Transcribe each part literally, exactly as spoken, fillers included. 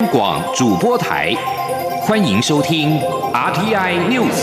广主播台，欢迎收听 R T I News。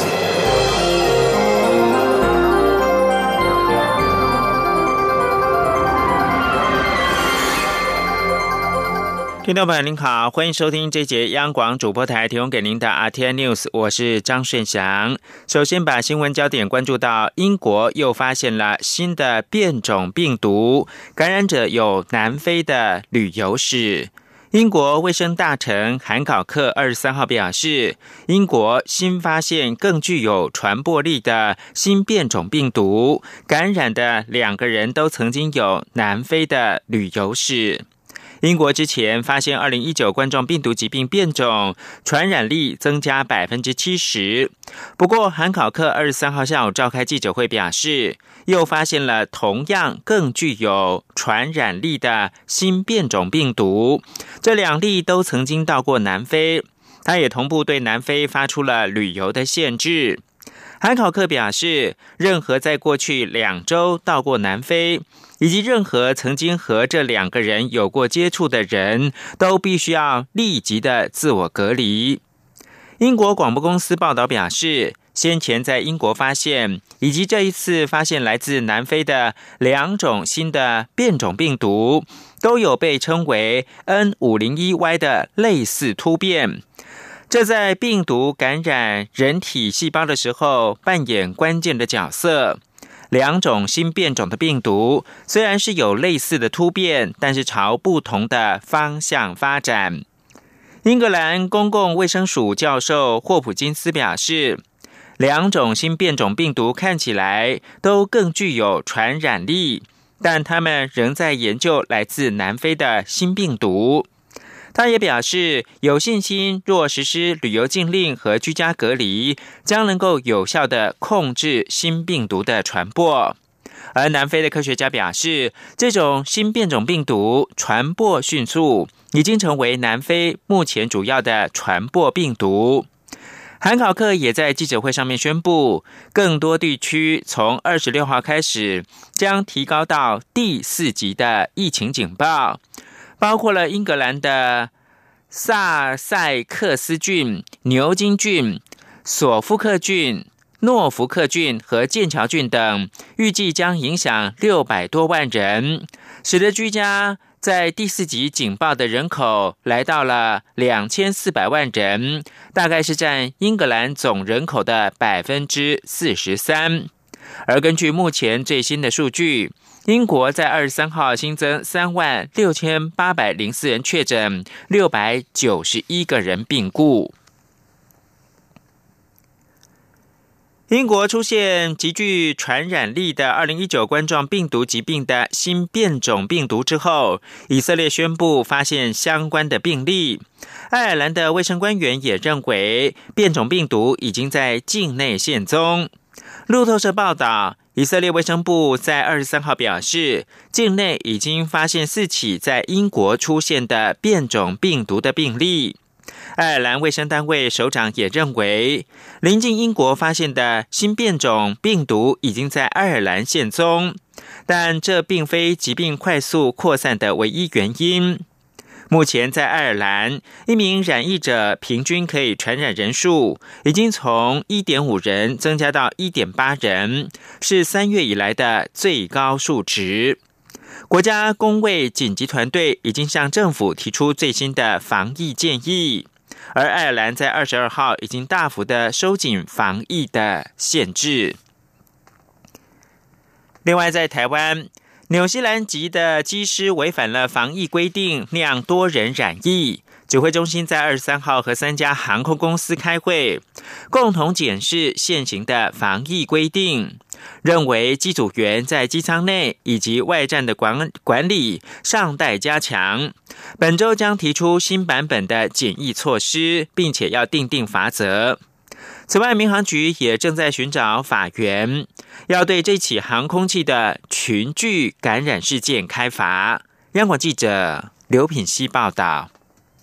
听众朋友您好，欢迎收听这节央广主播台提供给您的 R T I News， 我是张顺祥。首先把新闻焦点关注到英国又发现了新的变种病毒，感染者有南非的旅游史。英国卫生大臣韩考克二十三号表示，英国新发现更具有传播力的新变种病毒，感染的两个人都曾经有南非的旅游史。英国之前发现二零一九冠状病毒疾病变种，传染力增加 百分之七十。 不过韩考克二十三号下午召开记者会表示，又发现了同样更具有传染力的新变种病毒，这两例都曾经到过南非，他也同步对南非发出了旅游的限制。韩考克表示，任何在过去两周到过南非，以及任何曾经和这两个人有过接触的人，都必须要立即的自我隔离。英国广播公司报道表示，先前在英国发现，以及这一次发现来自南非的两种新的变种病毒，都有被称为 N 五零一 Y 的类似突变。这在病毒感染人体细胞的时候扮演关键的角色。两种新变种的病毒虽然是有类似的突变，但是朝不同的方向发展。英格兰公共卫生署教授霍普金斯表示，两种新变种病毒看起来都更具有传染力，但他们仍在研究来自南非的新病毒。他也表示，有信心若实施旅游禁令和居家隔离，将能够有效地控制新病毒的传播。而南非的科学家表示，这种新变种病毒传播迅速，已经成为南非目前主要的传播病毒。韩考克也在记者会上面宣布，更多地区从二十六号开始将提高到第四级的疫情警报，包括了英格兰的萨塞克斯郡、牛津郡、索夫克郡、诺福克郡和剑桥郡等，预计将影响六百多万人，使得居家在第四级警报的人口来到了两千四百万人，大概是占英格兰总人口的 百分之四十三。 而根据目前最新的数据，英国在二十三号新增三万六千八百零四人确诊，六百九十一个人病故。英国出现极具传染力的二零一九冠状病毒疾病的新变种病毒之后，以色列宣布发现相关的病例。爱尔兰的卫生官员也认为，变种病毒已经在境内现踪。路透社报道，以色列卫生部在二十三号表示，境内已经发现四起在英国出现的变种病毒的病例。爱尔兰卫生单位首长也认为，临近英国发现的新变种病毒已经在爱尔兰现踪，但这并非疾病快速扩散的唯一原因。目前在爱尔兰，一名染疫者平均可以传染人数已经从 一点五 人增加到 一点八 人，是三月以来的最高数值。国家公卫紧急团队已经向政府提出最新的防疫建议，而爱尔兰在二十二号已经大幅的收紧防疫的限制。另外在台湾，纽西兰籍的机师违反了防疫规定，酿多人染疫。指挥中心在二十三号和三家航空公司开会，共同检视现行的防疫规定，认为机组员在机舱内以及外站的管管理尚待加强。本周将提出新版本的检疫措施，并且要订定罚则。此外，民航局也正在寻找法源，要对这起航空器的群聚感染事件开罚。央广记者刘品希报道。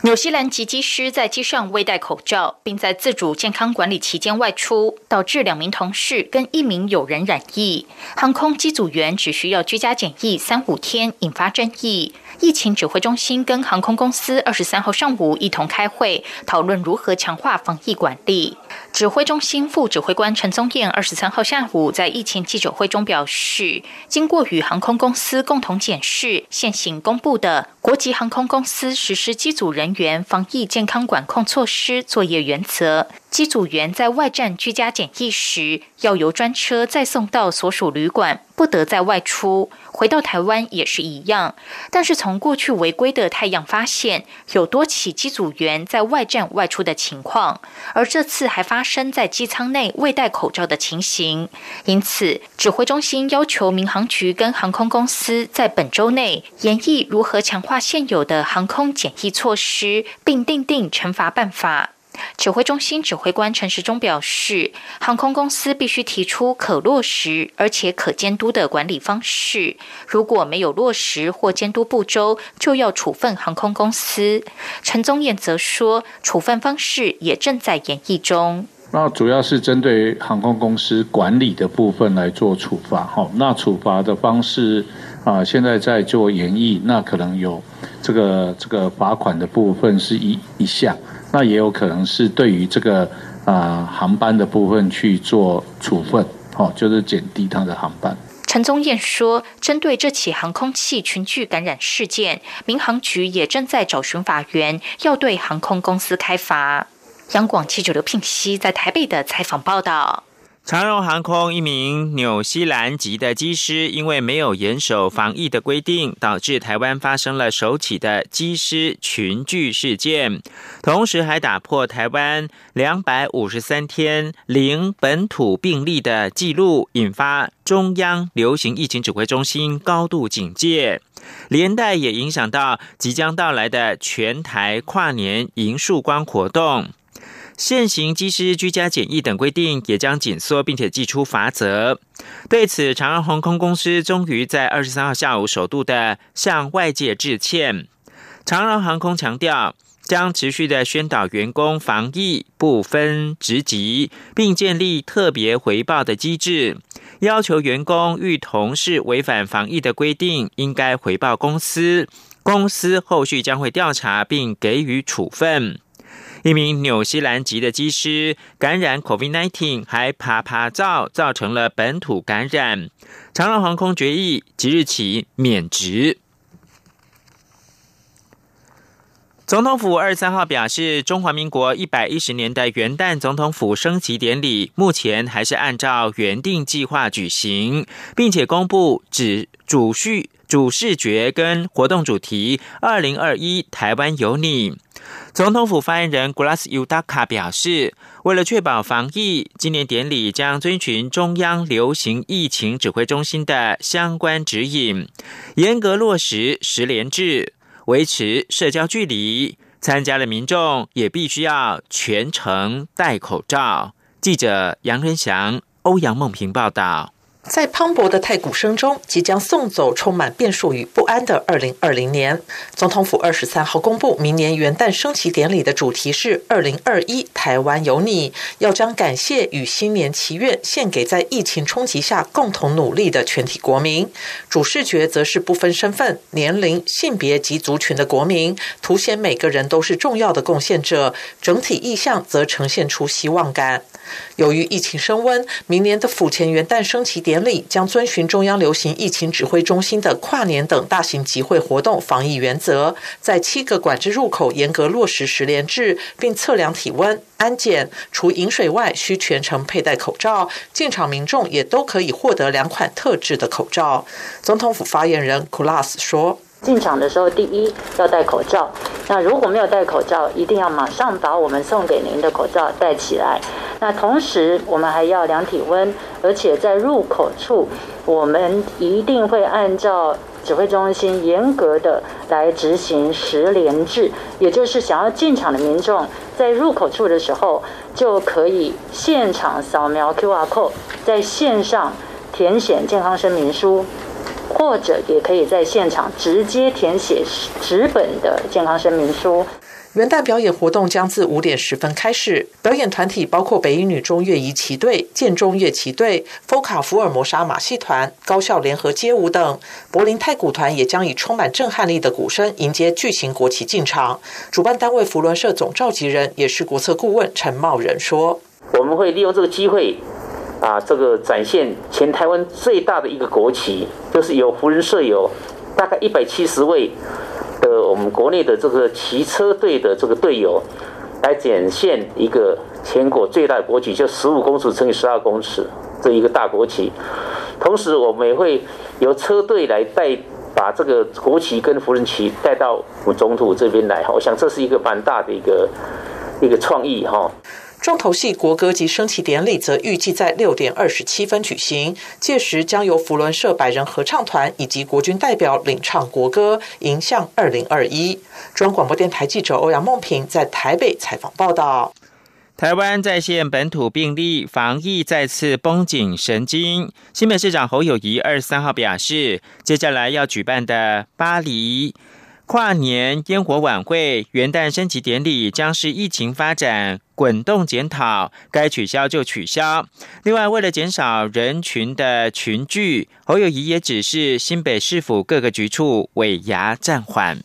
纽西兰籍机师在机上未戴口罩，并在自主健康管理期间外出，导致两名同事跟一名友人染疫。航空机组员只需要居家检疫三五天，引发争议。疫情指挥中心跟航空公司二十三号上午一同开会，讨论如何强化防疫管理。指挥中心副指挥官陈宗彦二十三号下午在疫情记者会中表示，经过与航空公司共同检视现行公布的国际航空公司实施机组人员防疫健康管控措施作业原则，机组员在外站居家检疫时，要由专车再送到所属旅馆，不得再外出。回到台湾也是一样，但是从过去违规的太阳发现，有多起机组员在外站外出的情况，而这次还发生在机舱内未戴口罩的情形。因此，指挥中心要求民航局跟航空公司在本周内研议如何强化现有的航空检疫措施，并订定惩罚办法。指挥中心指挥官陈时中表示，航空公司必须提出可落实而且可监督的管理方式，如果没有落实或监督不周，就要处分航空公司。陈宗彦则说，处分方式也正在研议中。 那主要是针对航空公司管理的部分来做处罚，那处罚的方式啊，现在在做研议，那可能有这个这个罚款的部分是一一项。那也有可能是对于这个啊、呃、航班的部分去做处分，哦，就是减低它的航班。 陈宗彦说，针对这起航空器群聚感染事件，民航局也正在找寻法源，要对航空公司开罚。央广记者刘聘熙在台北的采访报道。 长荣航空一名纽西兰籍的机师，因为没有严守防疫的规定，导致台湾发生了首起的机师群聚事件，同时还打破台湾两百五十三天零本土病例的记录，引发中央流行疫情指挥中心高度警戒，连带也影响到即将到来的全台跨年迎曙光活动。现行机师居家检疫等规定也将紧缩，并且祭出罚则。对此，长荣航空公司终于在二十三号下午首度的向外界致歉。长荣航空强调，将持续的宣导员工防疫不分职级，并建立特别回报的机制，要求员工遇同事违反防疫的规定，应该回报公司，公司后续将会调查并给予处分。一名纽西兰籍的机师感染 COVID 十九 还爬爬照，造成了本土感染。长荣航空决议即日起免职。总统府二十三号表示，中华民国一百一十年的元旦总统府升旗典礼目前还是按照原定计划举行，并且公布指主序主视觉跟活动主题二零二一台湾有你。总统府发言人 Glass Udaka 表示，为了确保防疫，今年典礼将遵循中央流行疫情指挥中心的相关指引，严格落实实联制，维持社交距离，参加的民众也必须要全程戴口罩。记者杨仁祥、欧阳梦平报道。 在磅礴的太鼓声中，即将送走充满变数与不安的二零二零年。总统府二十三号公布，明年元旦升旗典礼的主题是二零二一台湾有你，要将感谢与新年祈愿献给在疫情冲击下共同努力的全体国民。主视觉则是不分身份、年龄、性别及族群的国民，凸显每个人都是重要的贡献者。整体意象则呈现出希望感。由于疫情升温，明年的府前元旦升旗典礼将遵循中央流行疫情指挥中心的跨年等大型集会活动防疫原则，在七个管制入口严格落实实联制，并测量体温、安检，除饮水外需全程佩戴口罩，进场民众也都可以获得两款特制的口罩。总统府发言人 Kulas 说， 进场的时候，第一要戴口罩。那如果没有戴口罩，一定要马上把我们送给您的口罩戴起来。那同时，我们还要量体温，而且在入口处，我们一定会按照指挥中心严格的来执行实联制，也就是想要进场的民众在入口处的时候，就可以现场扫描 Q R code， 在线上填写健康声明书。或者也可以在现场直接填写纸本的健康声明书。 元旦表演活动将自五点十分开始，表演团体包括北一女中乐仪旗队、建中乐旗队、福卡福尔摩沙马戏团、高校联合街舞等。柏林太鼓团也将以充满震撼力的鼓声迎接巨型国旗进场。主办单位扶轮社总召集人也是国策顾问陈茂仁说：“ 我们会利用这个机会，啊，这个展现全台湾最大的一个国旗，就是有扶轮社有大概一百七十位。”的我们国内的这个骑车队的这个队友来展现一个全国最大的国旗，就十五公尺乘以十二公尺这一个大国旗。同时，我们也会由车队来带把这个国旗跟扶轮旗带到我们总统这边来。我想这是一个蛮大的一个一个创意哈。 重头戏国歌及升旗典礼则预计在六点二十七分举行，届时将由扶轮社百人合唱团以及国军代表领唱国歌，迎向二零二一。中央广播电台记者欧阳梦平在台北采访报道。 台湾再现本土病例，防疫再次绷紧神经。新北市长侯友宜二十三号表示，接下来要举办的巴黎跨年烟火晚会、元旦升旗典礼将是疫情发展滚动检讨，该取消就取消。另外，为了减少人群的群聚，侯友宜也指示新北市府各个局处尾牙暂缓。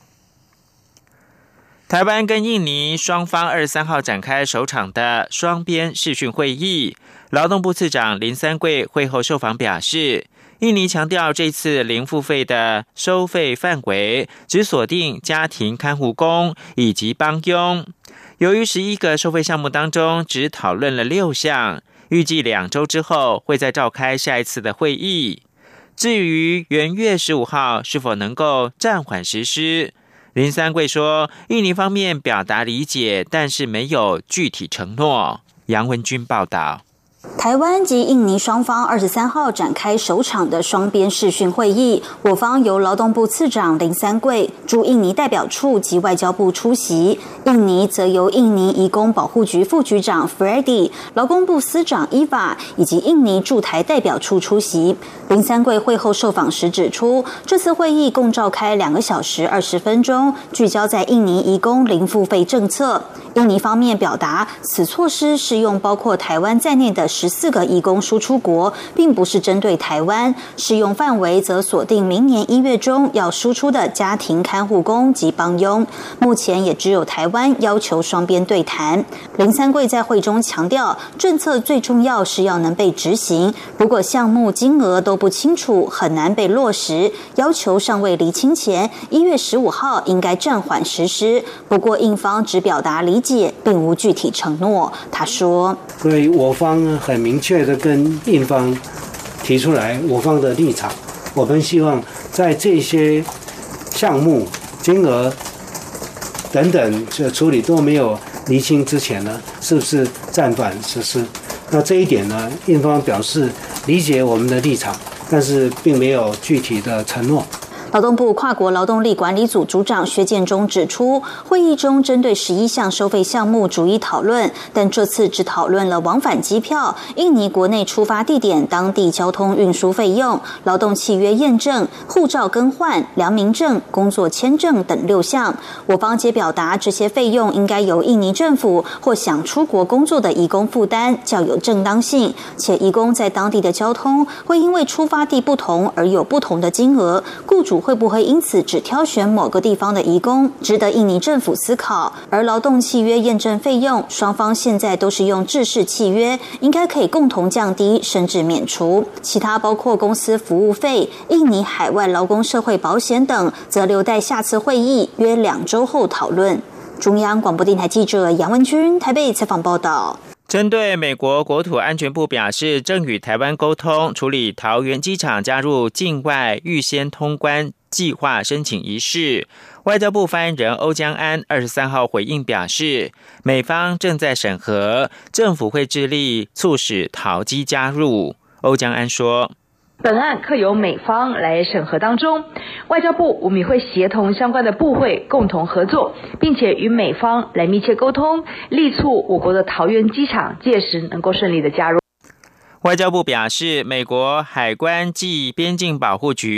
台湾跟印尼双方二十三号展开首场的双边视讯会议，劳动部次长林三桂会后受访表示，印尼强调这次零付费的收费范围只锁定家庭看护工以及帮佣。由于十一个收费项目当中只讨论了六项，预计两周之后会再召开下一次的会议。至于元月十五号是否能够暂缓实施，林三桂说，印尼方面表达理解，但是没有具体承诺。杨文君报道。 台湾及印尼双方二十三号展开首场的双边视讯会议，我方由劳动部次长林三桂驻印尼代表处及外交部出席，印尼则由印尼移工保护局副局长 Freddy、劳工部司长 Eva 以及印尼驻台代表处出席。林三桂会后受访时指出，这次会议共召开两个小时二十分钟，聚焦在印尼移工零付费政策。印尼方面表达，此措施适用包括台湾在内的十四个移工输出国，并不是针对台湾，适用范围则锁定明年一月中要输出的家庭看护工及帮佣。目前也只有台湾要求双边对谈。林三桂在会中强调，政策最重要是要能被执行，如果项目金额都不清楚，很难被落实，要求尚未厘清前，一月十五号应该暂缓实施。不过印方只表达理解，并无具体承诺。他说， 所以我方很明确的跟印方提出来我方的立场，我们希望在这些项目金额等等这处理都没有厘清之前呢，是不是暂缓实施？那这一点呢，印方表示理解我们的立场，但是并没有具体的承诺。 劳动部跨国劳动力管理组组长薛建中指出，会议中针对十一项收费项目逐一讨论，但这次只讨论了往返机票、印尼国内出发地点当地交通运输费用、劳动契约验证、护照更换、良民证、工作签证等六项。我方皆表达，这些费用应该由印尼政府或想出国工作的移工负担，较有正当性，且移工在当地的交通会因为出发地不同而有不同的金额，雇主会不会因此只挑选某个地方的移工，值得印尼政府思考。而劳动契约验证费用，双方现在都是用制式契约，应该可以共同降低甚至免除。其他包括公司服务费、印尼海外劳工社会保险等，则留待下次会议约两周后讨论。中央广播电台记者杨文君台北采访报道。 针对美国国土安全部表示正与台湾沟通处理桃园机场加入境外预先通关计划申请一事，外交部发言人欧江安二十三号回应表示，美方正在审核，政府会致力促使桃机加入。欧江安说， 本案课由美方来审核当中，外交部我们也会协同相关的部会共同合作，并且与美方来密切沟通，力促我国的桃园机场届时能够顺利的加入。 外交部表示，美国海关暨边境保护局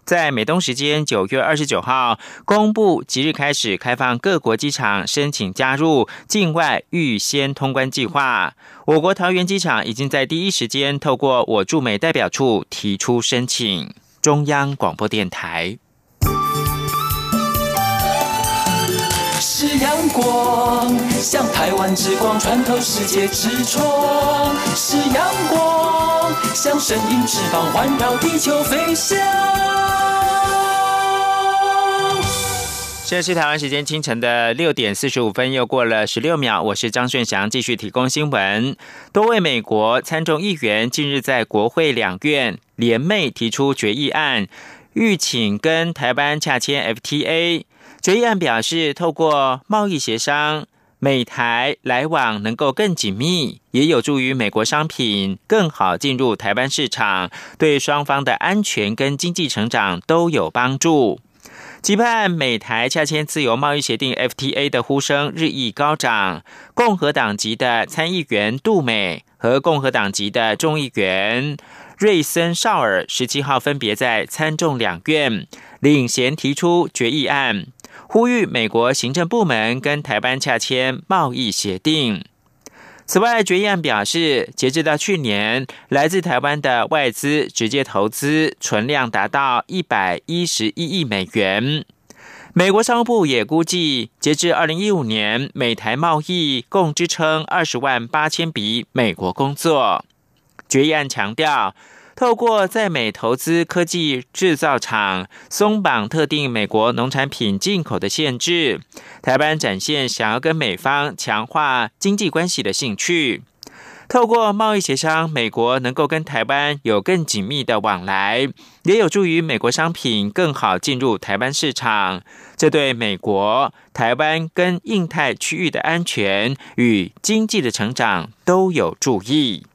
在美东时间九月二十九号公布，即日开始开放各国机场申请加入境外预先通关计划。我国桃园机场已经在第一时间透过我驻美代表处提出申请。中央广播电台。 是阳光，像台湾之光穿透世界之窗；是阳光，像神鹰翅膀环绕地球飞翔。 现在是台湾时间清晨的六点四十五分，又过了十六秒。我是张顺祥，继续提供新闻。多位美国参众议员近日在国会两院联袂提出决议案，欲请跟台湾洽签 F T A。决议案表示，透过贸易协商，美台来往能够更紧密，也有助于美国商品更好进入台湾市场，对双方的安全跟经济成长都有帮助。期盼美台洽签自由贸易协定 F T A 的呼声日益高涨，共和党籍的参议员杜美和共和党籍的众议员瑞森绍尔十七号分别在参众两院领衔提出决议案，呼吁美国行政部门跟台湾洽签贸易协定。此外，决议案表示，截至到去年，来自台湾的外资直接投资存量达到一百一十一亿美元。美国商务部也估计，截至二零一五年，美台贸易共支撑二十万八千笔美国工作。决议案强调，透过在美投资科技制造厂，松绑特定美国农产品进口的限制，台湾展现想要跟美方强化经济关系的兴趣。透过贸易协商，美国能够跟台湾有更紧密的往来，也有助于美国商品更好进入台湾市场。这对美国、台湾跟印太区域的安全与经济的成长都有助益。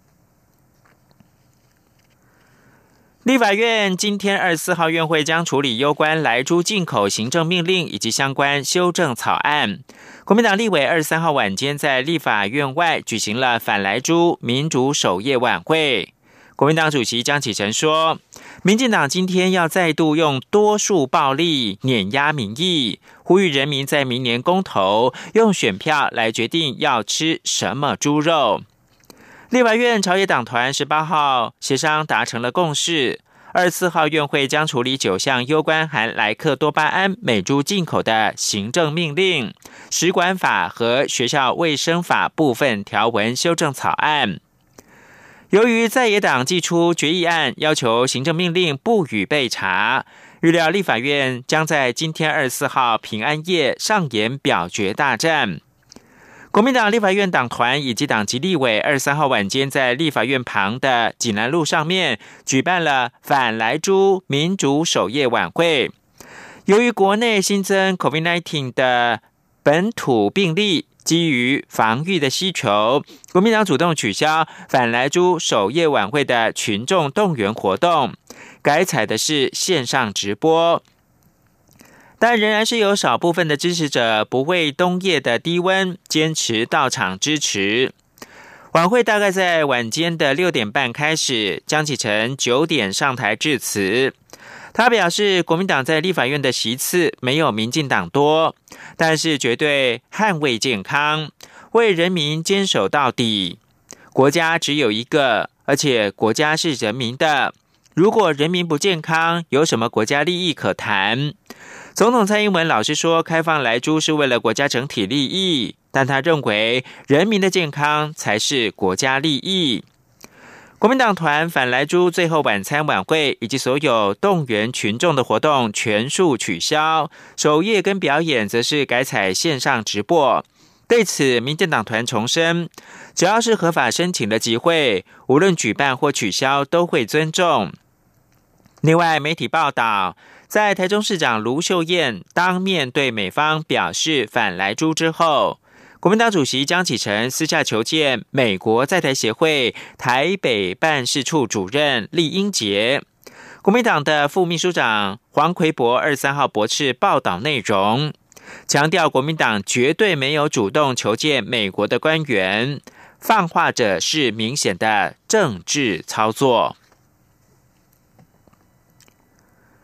立法院今天二十四号院会将处理有关莱猪进口行政命令以及相关修正草案。国民党立委二十三号晚间在立法院外举行了反莱猪民主守夜晚会。国民党主席江启臣说，民进党今天要再度用多数暴力碾压民意，呼吁人民在明年公投用选票来决定要吃什么猪肉。立法院朝野党团十八号协商达成了共识，二十四号院会将处理九项攸关含莱克多巴胺美猪进口的行政命令、食管法和学校卫生法部分条文修正草案。由于在野党祭出决议案，要求行政命令不予备查，预料立法院将在今天二十四号平安夜上演表决大战。国民党立法院党团以及党籍立委二十三号晚间在立法院旁的济南路上面举办了反莱猪民主守夜晚会。由于国内新增 COVID 十九 的本土病例，基于防御的需求，国民党主动取消反莱猪守夜晚会的群众动员活动，改采的是线上直播。但仍然是有少部分的支持者不畏冬夜的低温，坚持到场支持。晚会大概在晚间的六点半开始，江启臣九点上台致辞。他表示，国民党在立法院的席次没有民进党多，但是绝对捍卫健康，为人民坚守到底。国家只有一个，而且国家是人民的。如果人民不健康，有什么国家利益可谈？总统蔡英文老实说，开放莱猪是为了国家整体利益，但他认为人民的健康才是国家利益。国民党团反莱猪最后晚餐晚会以及所有动员群众的活动全数取消，守夜跟表演则是改采线上直播。对此，民进党团重申，只要是合法申请的集会，无论举办或取消都会尊重。另外，媒体报道，在台中市长卢秀燕当面对美方表示反莱猪之后，国民党主席江启臣私下求见美国在台协会台北办事处主任厉英杰。国民党的副秘书长黄奎博二十三号驳斥报道内容，强调国民党绝对没有主动求见美国的官员，放话者是明显的政治操作。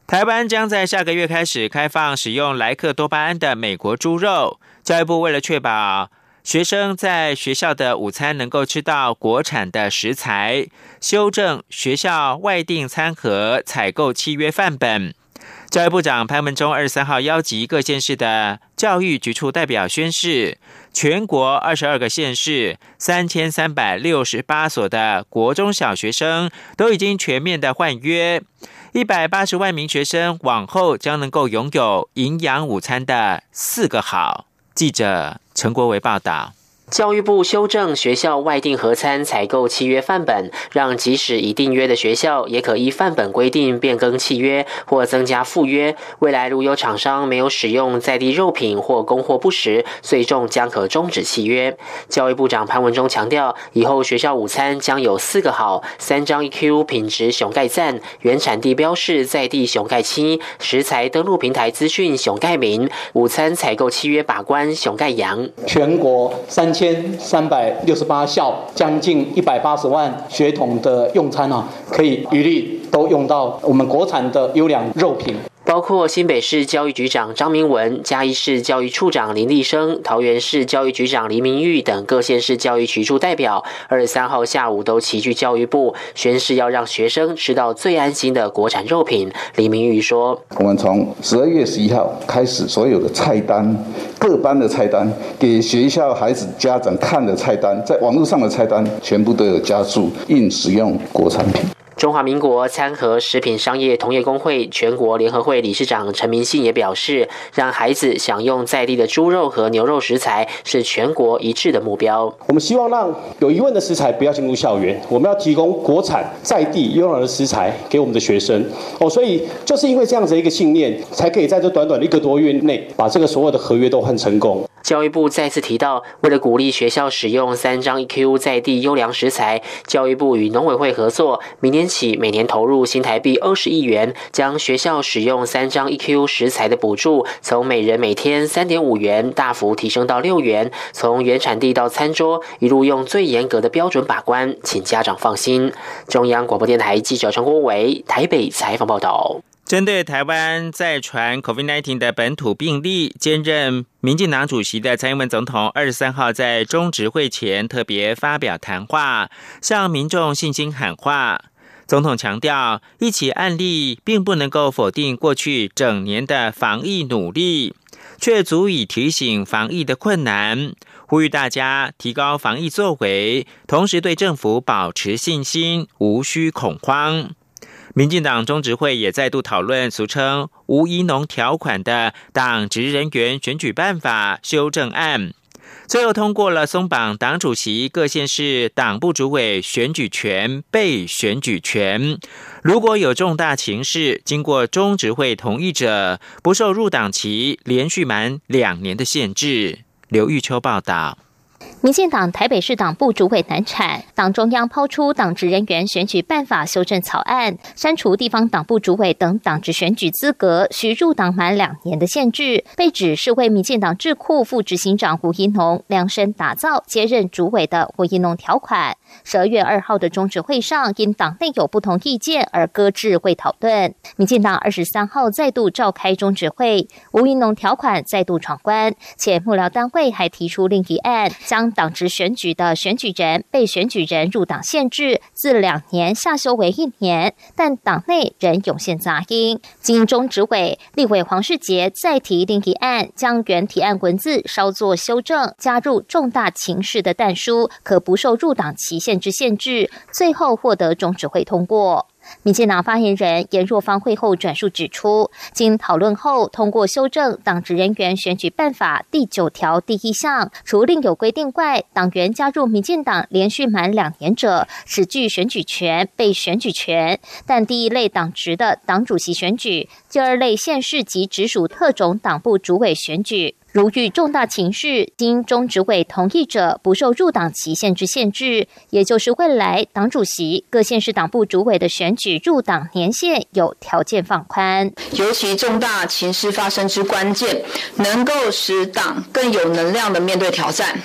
台湾将在下个月开始开放使用莱克多巴胺的美国猪肉。教育部为了确保学生在学校的午餐能够吃到国产的食材，修正学校外订餐盒采购契约范本。教育部长潘文忠二十三号邀集各县市的教育局处代表宣示，全国二十二个县市三千三百六十八所的国中小学生都已经全面的换约，一百八十万名学生往后将能够拥有营养午餐的四个好。记者陈国维报道。 教育部修正学校外订合餐采购契约范本，让即使已订约的学校也可依范本规定变更契约或增加附约。未来如有厂商没有使用在地肉品或供货不实，最重将可终止契约。教育部长潘文忠强调，以后学校午餐将有四个好：三张 E Q 品质熊盖赞、原产地标示在地熊盖七、食材登录平台资讯熊盖明、午餐采购契约把关熊盖阳。 全国三千三百六十八校，将近一百八十万学童的用餐啊，可以一律都用到我们国产的优良肉品。 包括新北市教育局长张明文、嘉义市教育处长林立生、桃园市教育局长黎明玉等各县市教育局处代表，二十三号下午都齐聚教育部，宣誓要让学生吃到最安心的国产肉品。黎明玉说：“ 我们从十二月十一号开始，所有的菜单、各班的菜单、给学校孩子家长看的菜单，在网络上的菜单，全部都有加注应使用国产品。” 中华民国餐盒食品商业同业公会全国联合会理事长陈明信也表示，让孩子享用在地的猪肉和牛肉食材是全国一致的目标。 我们希望让有疑问的食材不要进入校园，我们要提供国产在地优良的食材给我们的学生。哦，所以就是因为这样子一个信念，才可以在这短短的一个多月内把这个所有的合约都换成功。 教育部再次提到，为了鼓励学校使用三张 E Q 在地优良食材，教育部与农委会合作，明年起每年投入新台币二十亿元，将学校使用三张 E Q 食材的补助从每人每天 三点五元大幅提升到六元，从原产地到餐桌一路用最严格的标准把关，请家长放心。中央广播电台记者陈国伟台北采访报道。 针对台湾再传 COVID 十九 的本土病例，兼任民进党主席的蔡英文总统二十三号在中执会前特别发表谈话，向民众信心喊话。总统强调，一起案例并不能够否定过去整年的防疫努力，却足以提醒防疫的困难，呼吁大家提高防疫作为，同时对政府保持信心，无需恐慌。民进党中执会也再度讨论俗称吴怡农条款的党职人员选举办法修正案，最后通过了松绑党主席各县市党部主委选举权、被选举权。如果有重大情势，经过中执会同意者，不受入党期连续满两年的限制。刘玉秋报道。 民进党台北市党部主委难产，党中央抛出党职人员选举办法修正草案，删除地方党部主委等党职选举资格需入党满两年的限制，被指是为民进党智库副执行长胡怡农量身打造接任主委的胡怡农条款。十二月二号的中执会上，因党内有不同意见而搁置会讨论。民进党二十三号再度召开中执会，吴怡农条款再度闯关，且幕僚单位还提出另一案，将党职选举的选举人、被选举人入党限制自两年下修为一年，但党内仍涌现杂音。经中执委立委黄世杰再提另一案，将原提案文字稍作修正，加入重大情势的但书，可不受入党期限之限制，最后获得中执会通过。民进党发言人严若芳会后转述指出，经讨论后通过修正党职人员选举办法第九条第一项，除另有规定外，党员加入民进党连续满两年者，只具选举权、被选举权，但第一类党职的党主席选举，第二类县市及直属特种党部主委选举，如遇重大情势，经中执委同意者，不受入党期限之限制，也就是未来党主席、各县市党部主委的选举入党年限有条件放宽。 尤其重大情势发生之关键，能够使党更有能量的面对挑战，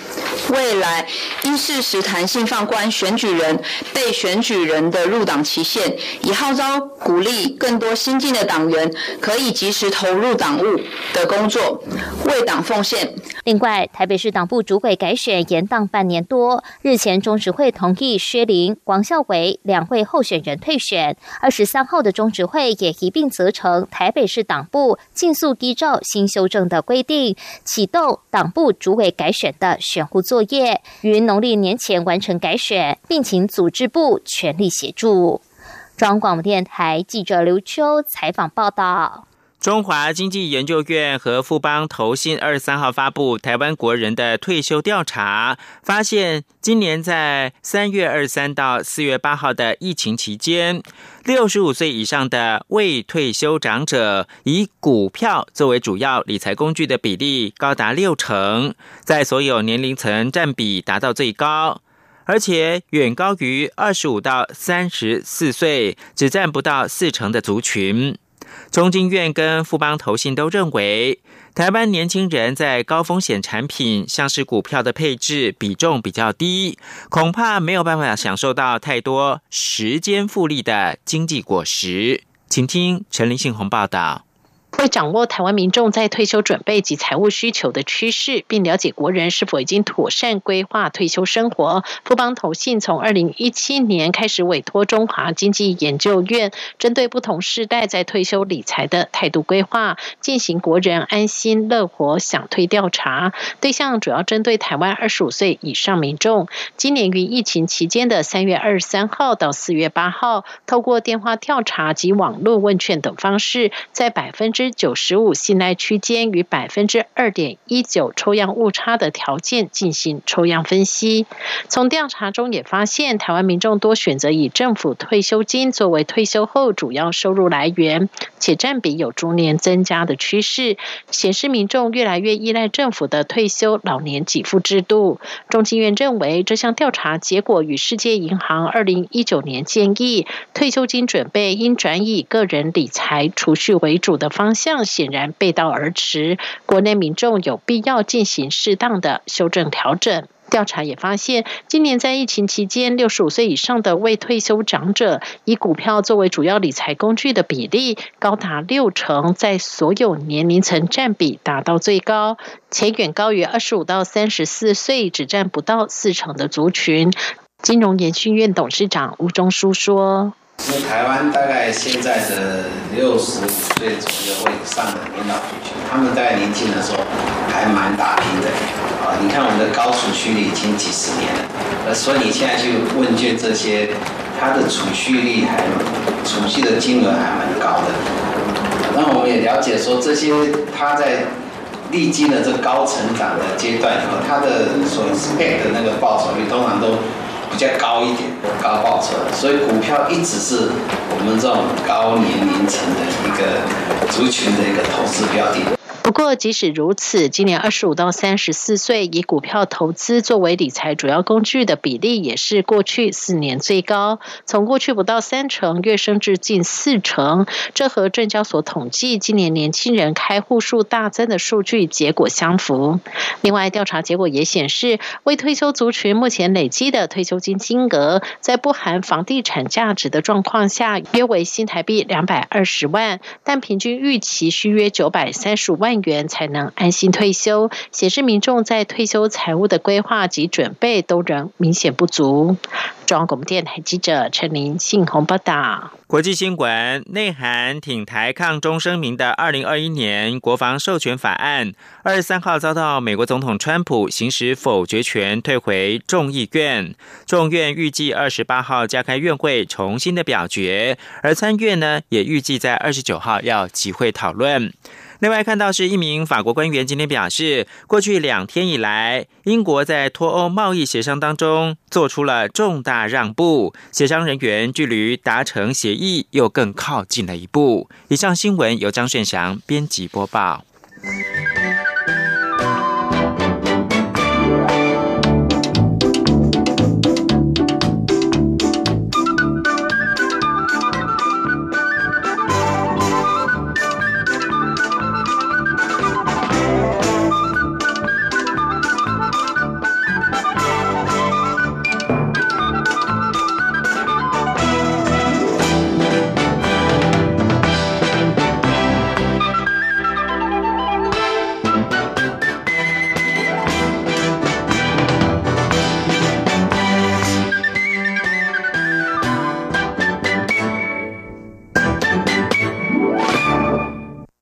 未来应适时弹性放宽选举人、被选举人的入党期限，以号召鼓励更多新进的党员可以及时投入党务的工作，为党奉献。 另外，台北市党部主委改选延宕半年多，日前中执会同意薛凌、王孝伟两位候选人退选。二十三号的中执会也一并责成台北市党部尽速依照新修正的规定，启动党部主委改选的选务作业，于农历年前完成改选，并请组织部全力协助。中央广播电台记者刘秋采访报道。 中华经济研究院和富邦投信二十三号发布台湾国人的退休调查，发现今年在三月二十三到四月八号的疫情期间，六十五岁以上的未退休长者以股票作为主要理财工具的比例高达六成，在所有年龄层占比达到最高，而且远高于二十五到三十四岁只占不到四成的族群。中经院跟富邦投信都认为，台湾年轻人在高风险产品像是股票的配置比重比较低，恐怕没有办法享受到太多时间复利的经济果实。请听陈林信宏报道。 为掌握台湾民众在退休准备及财务需求的趋势，并了解国人是否已经妥善规划退休生活，富邦投信从二零一七年开始委托中华经济研究院，针对不同世代在退休理财的态度规划，进行国人安心乐活享退调查，对象主要针对台湾二十五岁以上民众。今年于疫情期间的三月二十三号到四月八号，透过电话调查及网络问卷等方式，在百分之九十五信赖区间与百分之二点一九抽样误差的条件进行抽样分析。从调查中也发现，台湾民众多选择以政府退休金作为退休后主要收入来源，且占比有逐年增加的趋势，显示民众越来越依赖政府的退休老年给付制度。中经院认为，这项调查结果与世界银行二零一九年建议退休金准备应转以个人理财储蓄为主的方向显然背道而驰，国内民众有必要进行适当的修正调整。调查也发现，今年在疫情期间，六十五岁以上的未退休长者以股票作为主要理财工具的比例高达六成，在所有年龄层占比达到最高，且远高于二十五到三十四岁只占不到四成的族群。金融研训院董事长吴中书说， 因为台湾大概现在的六十五岁左右或以上的年老族群，他们在年轻的时候还蛮打拼的啊。你看我们的高储蓄率已经几十年了，呃，所以你现在去问卷这些，他的储蓄率还储蓄的金额还蛮高的。那我们也了解说，这些他在历经了这高成长的阶段以后，他的所 expect 的那个报酬率通常都比较高一点，高报酬，所以股票一直是我们这种高年龄层的一个族群的一个投资标的。 不过，即使如此，今年二十五到三十四岁以股票投资作为理财主要工具的比例，也是过去四年最高，从过去不到三成跃升至近四成。这和证交所统计今年年轻人开户数大增的数据结果相符。另外，调查结果也显示，未退休族群目前累积的退休金金额，在不含房地产价值的状况下，约为新台币两百二十万，但平均预期需约九百三十五万元才能安心退休，显示民众在退休财务的规划及准备都仍明显不足。中央广播电台记者陈林信宏报道。 国际新闻，内涵挺台抗中声明的二零二一年国防授权法案，二十三号遭到美国总统川普行使否决权，退回众议院。众院预计二十八号加开院会重新的表决，而参院呢也预计在二十九号要集会讨论。另外看到是一名法国官员今天表示，过去两天以来，英国在脱欧贸易协商当中做出了重大让步，协商人员距离达成协议又更靠近了一步。以上新闻由张炫祥编辑播报。